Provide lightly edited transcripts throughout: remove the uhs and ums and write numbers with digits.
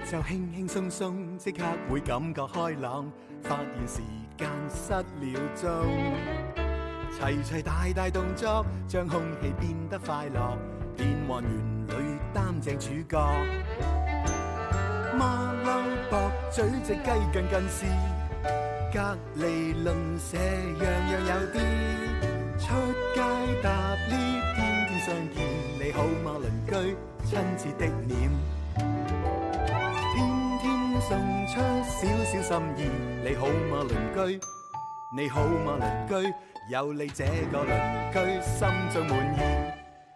就輕輕鬆鬆，即刻會感覺開朗，發現時間失了蹤。齊齊大大動作，將空氣變得快樂，變幻園裏擔正主角。馬騮駁嘴隻雞近近視，隔離鄰舍樣樣有啲。出街搭 lift，天天相見，你好嗎鄰居？親切的臉，天天送出少少心意，你好嗎鄰居？你好嗎鄰居？有你這個鄰居，心中滿意。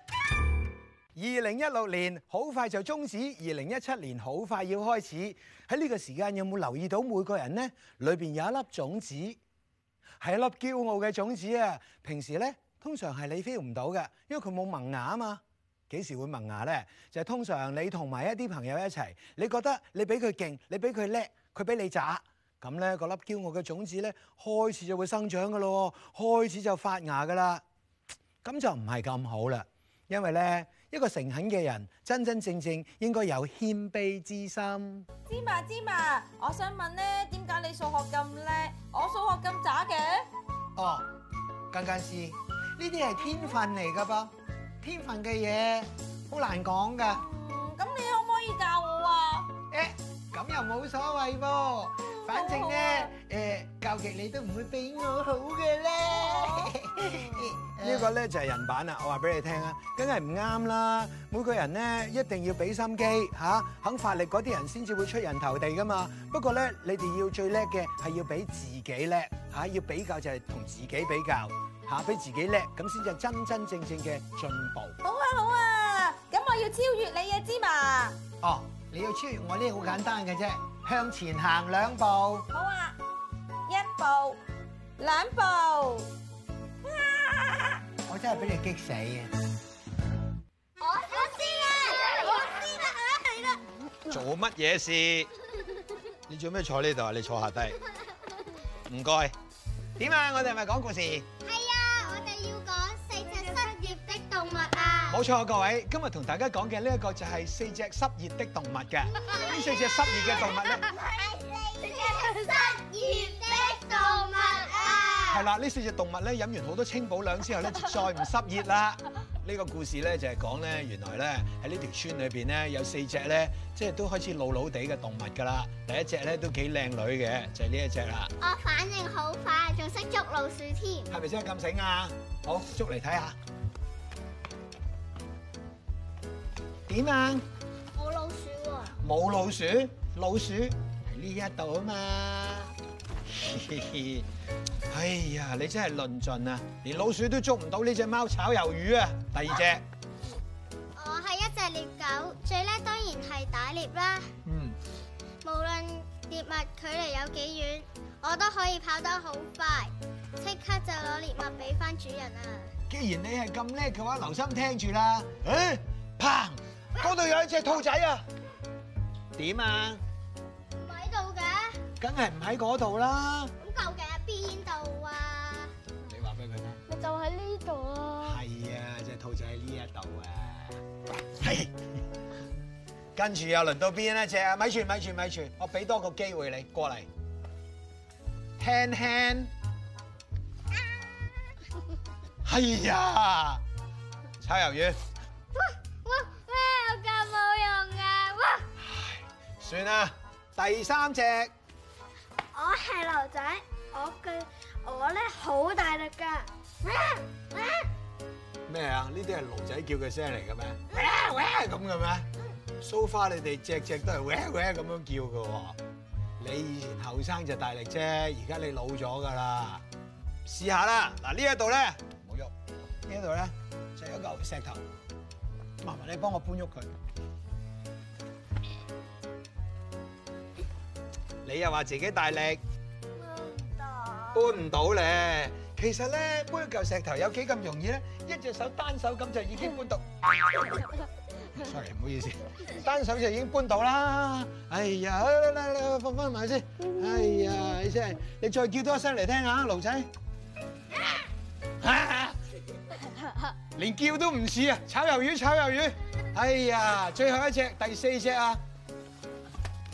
2016年好快就終止，2017年好快要開始。喺呢個時間有冇留意到每個人呢？裏邊有一粒種子，係一粒驕傲嘅種子啊！平時呢，通常係你 feel 唔到嘅，因為佢冇萌芽啊嘛。幾時會萌芽呢？就係通常你同埋一啲朋友一齊，你覺得你比佢勁，你比佢叻，佢比你渣，咁呢嗰粒驕傲嘅種子呢，開始就會生長噶咯，開始就發芽噶啦。咁就唔係咁好啦，因為呢，一個誠懇嘅人，真真正正應該有謙卑之心。 芝麻，我想問咧，點解你數學咁叻，我數學咁渣嘅？ 哦，近視，呢啲係天分嚟噶噃，天分嘅嘢好難講噶。 咁你可唔可以教我啊？ 咁又冇所謂噃，反正咧，教極你都唔會比我好嘅咧。呢個咧就係人版啦，我話俾你聽啊，梗係唔啱啦。每個人咧一定要俾心機嚇，肯發力嗰啲人先至會出人頭地噶嘛。不過咧，你哋要最叻嘅係要比自己叻嚇，要比較就係同自己比較嚇，比自己叻咁先至係真真正正嘅進步。 好啊，咁我要超越你啊，芝麻。 哦，你要超越我呢，好簡單嘅啫，向前行2步。 好啊，1步、2步。 我真係俾你激死啊！ 我知啦，係啦。 做乜嘢事？你做咩坐呢度啊？你坐下低。唔該。 點啊？我哋係咪講故事？ 係啊，我哋要講4隻失業的動物啊！ 冇錯，各位，今日同大家講嘅呢一個就係4隻失業的動物嘅。呢4隻失業嘅動物咧， 係4隻失業的動物啊！ 係啦，呢4隻動物咧飲完好多清補涼之後咧，就再唔失業啦。呢個故事咧就係講咧，原來咧喺呢條村裏邊咧有4隻咧，即係都開始老老地嘅動物㗎啦。第一隻咧都幾靚女嘅，就係呢一隻啦。 我反應好快，仲識捉老鼠添。 係咪真係咁醒啊？好，捉嚟睇下。點啊？ 冇老鼠喎。 冇老鼠，老鼠喺呢一度啊嘛。哎呀，你真係論盡啊！連老鼠都捉唔到呢隻貓炒魷魚啊！第二隻， 我係一隻獵狗，最叻當然係打獵啦。無論獵物距離有幾遠，我都可以跑得好快，即刻就攞獵物俾翻主人啊！ 既然你係咁叻嘅話，留心聽住啦。誒，砰！嗰度有一隻兔仔啊！點啊？ 唔喺度嘅， 梗係唔喺嗰度啦。 咁究竟喺邊度啊？ 你話俾佢聽。 咪就喺呢度啊！ 係啊，隻兔仔喺呢一度啊。係。跟住又輪到邊一隻啊？咪住，我俾多個機會你過嚟。Hand。係呀，炒魷魚。 咩有咁冇用啊？ 算啦，第3隻。 我係牛仔，我咧好大力㗎。 咩啊？呢啲係驢仔叫嘅聲嚟嘅咩？咁嘅咩？So far 你哋隻都係咁樣叫嘅喎。你以前後生就大力啫，而家你老咗㗎啦。試下啦，嗱呢一度咧冇喐，呢一度咧就有一嚿石頭，麻煩你幫我搬喐佢。你又話自己大力，搬唔到咧。其實咧，搬一嚿石頭有幾咁容易咧？一隻手單手咁就已經搬到。Sorry， 唔好意思，單手就已經搬到啦。哎呀，嚟放翻埋先。哎呀，你真係，你再叫多一聲嚟聽下，驢仔。連叫都唔似啊！，炒魷魚。哎呀，最後一隻，第4隻啊！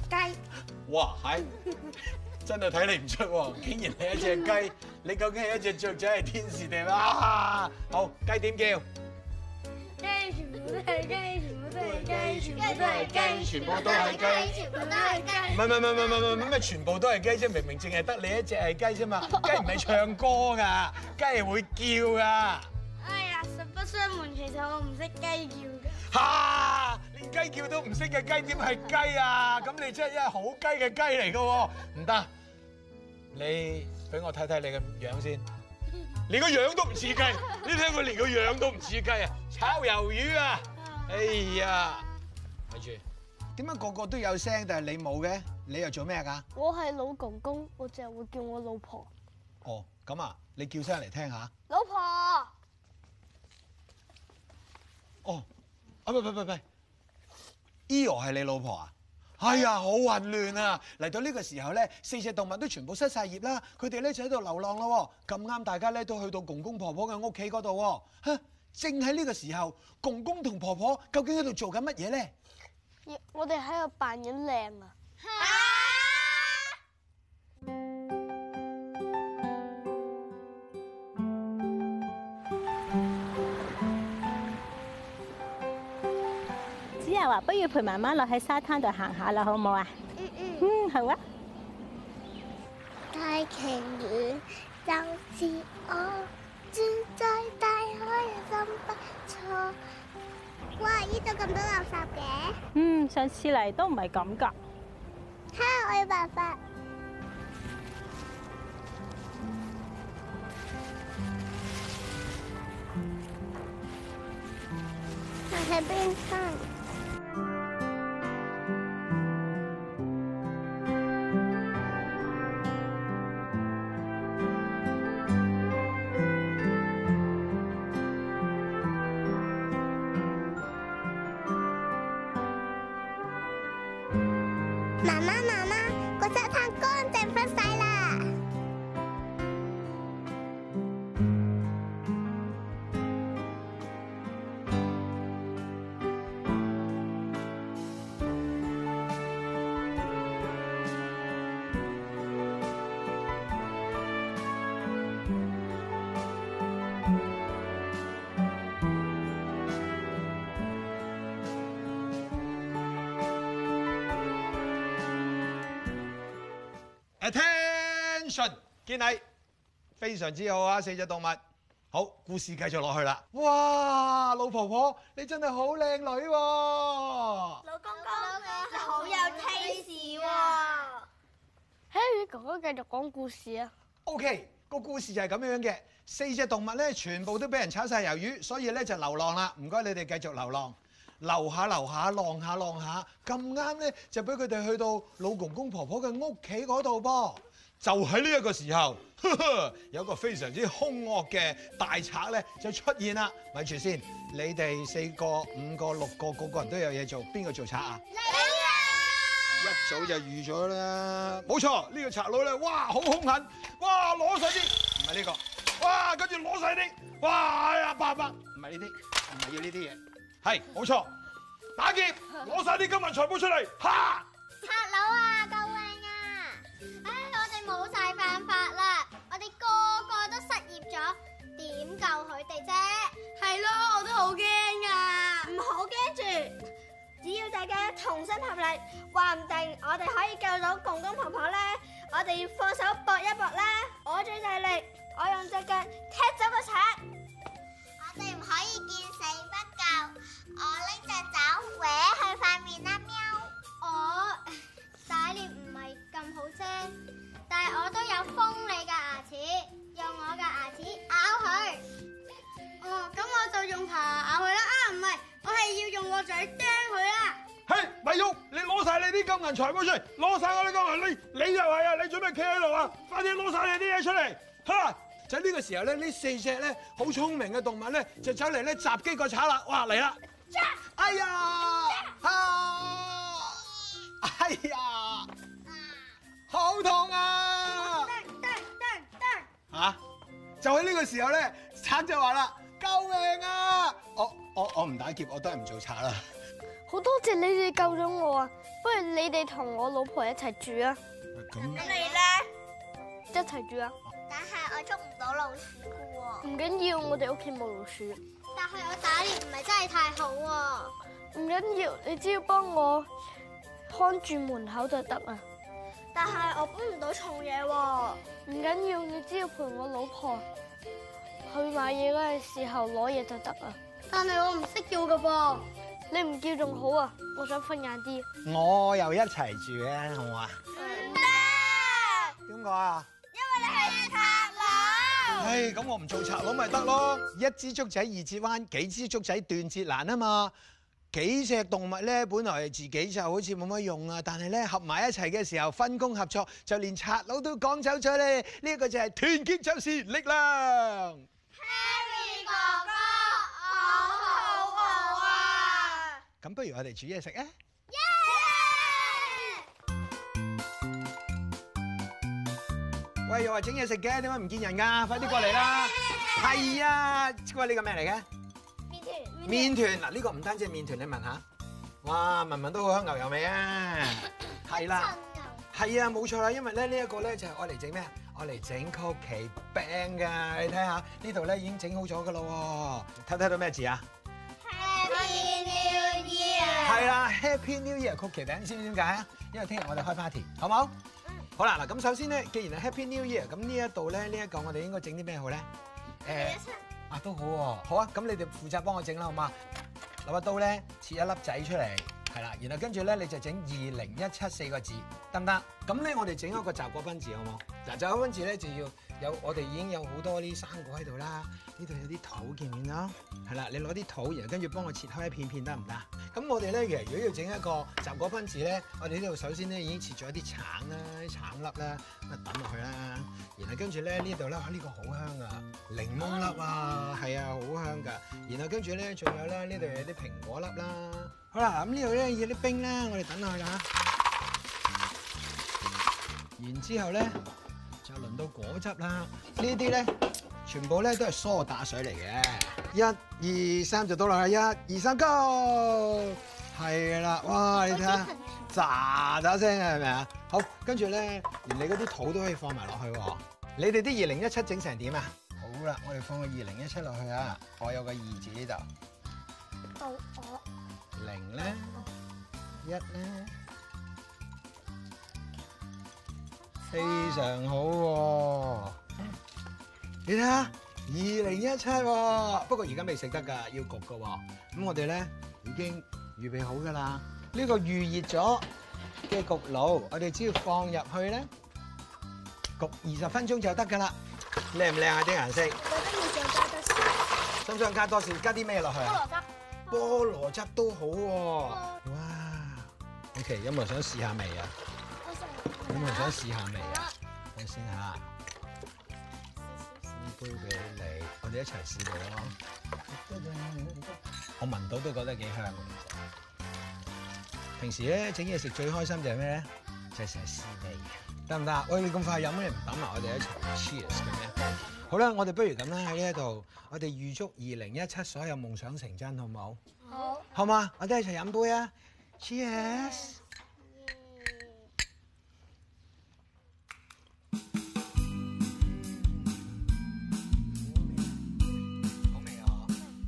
雞。 哇，係真係睇你唔出喎，竟然係一隻雞，你究竟係一隻雀仔係天使定啊？好，雞點叫？ 雞全部都係雞，全部都係雞， 全部都係雞，全部都係雞。 全部都係雞。 唔係咩？全部都係雞啫，明明淨係得你一隻係雞啫嘛。雞唔係唱歌㗎，雞係會叫㗎。 哎呀，實不相瞞，其實我唔識雞叫㗎。 嚇！連雞叫都唔識嘅雞點係雞啊？咁你真係一係好雞嘅雞嚟㗎喎！唔得，你俾我睇睇你嘅樣先。連個樣都唔似雞，你睇佢連個樣都唔似雞啊！炒魷魚啊！哎呀，咪住， 點解個個都有聲，但係你冇嘅？你又做咩㗎？ 我係老公公，我淨係會叫我老婆。 哦，咁啊，你叫聲嚟聽下。 老婆， 哦，啊唔，Eo 係你老婆啊？哎呀，好混亂啊！嚟到呢個時候咧，4隻動物都全部失晒業啦，佢哋咧就喺度流浪咯。咁啱大家咧都去到公公婆婆嘅屋企嗰度喎。嚇，正喺呢個時候，公公同婆婆究竟喺度做緊乜嘢咧？ 我哋喺度扮緊靚啊！ 子柔話：不如陪媽媽落喺沙灘度行下啦，好唔好啊？好啊。 大鯨魚就是我，住在大海真不錯。哇！呢度咁多垃圾嘅。 上次嚟都唔係咁㗎。 哈！我有辦法。我喺邊分？媽媽，個沙灘乾淨返晒啦！ Attention， 見你非常之好啊！4隻動物，好，故事繼續落去啦。 哇，老婆婆你真係好靚女喎！ 老公公，你好有 taste 喎 Harry 哥哥繼續講故事啊！ OK， 個故事就係咁樣嘅，4隻動物咧全部都俾人炒晒魷魚，所以咧就流浪啦。唔該你哋繼續流浪。流下流下，浪下浪下，咁啱咧就俾佢哋去到老公公婆婆嘅屋企嗰度噃。 就喺呢一個時候，有個非常之兇惡嘅大賊咧就出現啦。 咪住先，你哋4個、5個、6個，個個人都有嘢做，邊個做賊啊？ 你啊！ 一早就預咗啦，冇錯，呢個賊佬咧，哇，好兇狠，哇，攞晒啲，唔係呢個，哇，跟住攞晒啲，哇，哎呀，爸，唔係呢啲，唔係要呢啲嘢，係，冇錯，打劫，攞晒啲金銀財寶出嚟，哈！ 賊佬啊，救命啊！唉，我哋冇晒辦法啦，我哋個個都失業咗，點救佢哋啫？係咯，我都好驚啊！唔好驚住，只要大家同心合力，話唔定我哋可以救到公公婆婆咧。我哋要放手搏一搏啦！我最大力，我用隻腳踢走個賊。我哋唔可以見死不救，我拎隻爪搲佢塊面啦，喵！我打獵唔係咁好啫，但係我都有鋒利嘅牙齒，用我嘅牙齒咬佢。哦，咁我就用爬咬佢啦。啊，唔係，我係要用個嘴啄佢啦。 嘿，咪喐！你攞晒你啲金銀財寶出嚟，攞晒我啲金銀，你又係啊！你做咩企喺度啊？快啲攞晒你啲嘢出嚟！嚇！ 就喺呢個時候咧，呢4隻咧好聰明嘅動物咧就走嚟咧襲擊個賊啦！哇，嚟啦！哎呀！哎呀！好痛啊！嚇！就喺呢個時候咧，賊就話啦：救命啊！我唔打劫，我都係唔做賊啦。 好多謝你哋救咗我啊！ 不如你哋同我老婆一齊住啊！ 咁咁你咧？ 一齊住啊！ 但係我捉唔到老鼠㗎喎。 唔緊要，我哋屋企冇老鼠。 但係我打獵唔係真係太好喎。 唔緊要，你只要幫我看住門口就得啦。 但係我搬唔到重嘢喎。 唔緊要，你只要陪我老婆去買嘢嗰陣時候攞嘢就得啦。 但係我唔識叫㗎噃。 你唔叫仲好啊！我想瞓晏啲。 我又一齊住嘅，好唔好啊？ 唔得， 點解啊？ 因為你係賊佬。 唉，咁我唔做賊佬咪得咯！一支竹仔二折彎，幾支竹仔斷節難啊嘛！幾隻動物咧，本來自己就好似冇乜用啊，但係咧合埋一齊嘅時候，分工合作，就連賊佬都趕走咗咧。呢一個就係團結就是力量。 Harry 哥哥，我好餓啊！ 咁不如我哋煮嘢食啊！喂，又話整嘢食嘅，點解唔見人㗎？快啲過嚟啦！係啊，喂，呢個咩嚟嘅？麵團嗱，呢個唔單止係麵團，你聞下，哇，聞聞都好香牛油味啊！係啦，係啊，冇錯啦，因為咧呢一個咧就係愛嚟整咩啊？愛嚟整曲奇餅㗎，你睇下呢度咧已經整好咗㗎咯喎，睇到咩字啊 Happy New Year！ 係啦 ，Happy New Year 曲奇餅，知唔知點解啊？因為聽日我哋開 party，好冇？好啦，嗱咁首先咧，既然係 Happy New Year，咁呢一度咧呢一個我哋應該整啲咩好咧？啊都好喎，好啊，咁你哋負責幫我整啦，好嘛？攞把刀咧，切一粒仔出嚟，係啦，然後跟住咧你就整2017個字，得唔得？咁咧我哋整一個雜果賓字，好冇？嗱，雜果賓字咧就要有，我哋已經有好多啲生果喺度啦，呢度有啲土見唔見啊？係啦，你攞啲土，然後跟住幫我切開一片片得唔得？咁我哋咧其實如果要整一個雜果賓字咧，我哋呢度首先咧已經切咗一啲橙啦、啲橙粒啦，咁啊抌落去啦，然後跟住咧呢度咧，呢個好香啊，檸檬粒啊，係啊，好香㗎。然後跟住咧仲有咧呢度有啲蘋果粒啦。好啦，咁呢度咧要啲冰啦，我哋等落去啦。然之後咧就輪到果汁啦，呢啲咧全部咧都係梳打水嚟嘅。1、2、3就倒落去，1、2、3 go， 係啦，哇！你睇下，喳喳聲啊，係咪啊？好，跟住咧，連你嗰啲土都可以放埋落去喎。你哋啲2017整成點啊？好啦，我哋放個2017落去啊！我有個2字呢度。 到我。 0咧，1咧，非常好喎！你睇下，2017喎，不過而家未食得㗎，要焗㗎喎。咁我哋咧已經預備好㗎啦。呢個預熱咗嘅焗爐，我哋只要放入去咧，焗20分鐘就得㗎啦。靚唔靚啊啲顏色？ 我覺得要再加多少？ 想唔想加多少？加啲咩落去啊？菠蘿汁都好喎，哇！OK，有冇人想試下味啊？有冇人想試下味啊？等先嚇，試杯俾你，我哋一齊試過咯。我聞到都覺得幾香嘅。平時咧整嘢食最開心就係咩咧？就係成日試味，得唔得？喂，你咁快飲咩？唔等埋我哋一齊 cheers 嘅咩？好啦，我哋不如咁啦，喺呢一度，我哋預祝2017所有夢想成真，好唔好？好。好嘛，我哋一齊飲杯啊 ！Cheers！ 好味啊！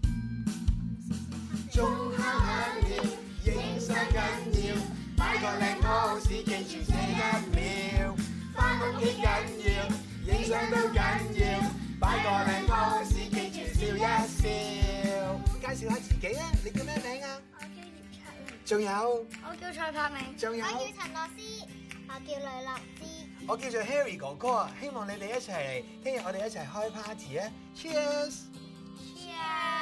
鐘敲響了，影相緊要，擺個靚 pose，記住這1秒，返屋企緊要，影相都緊要。擺個靚 pose，記住笑一笑。介紹下自己啊，你叫咩名啊？ 我叫葉卓明。 仲有？ 我叫蔡柏明。 仲有？ 我叫陳樂思。我叫呂樂芝。 我叫做 Harry 哥哥啊，希望你哋一齊嚟，聽日我哋一齊開 party 啊 ！Cheers！ Cheers！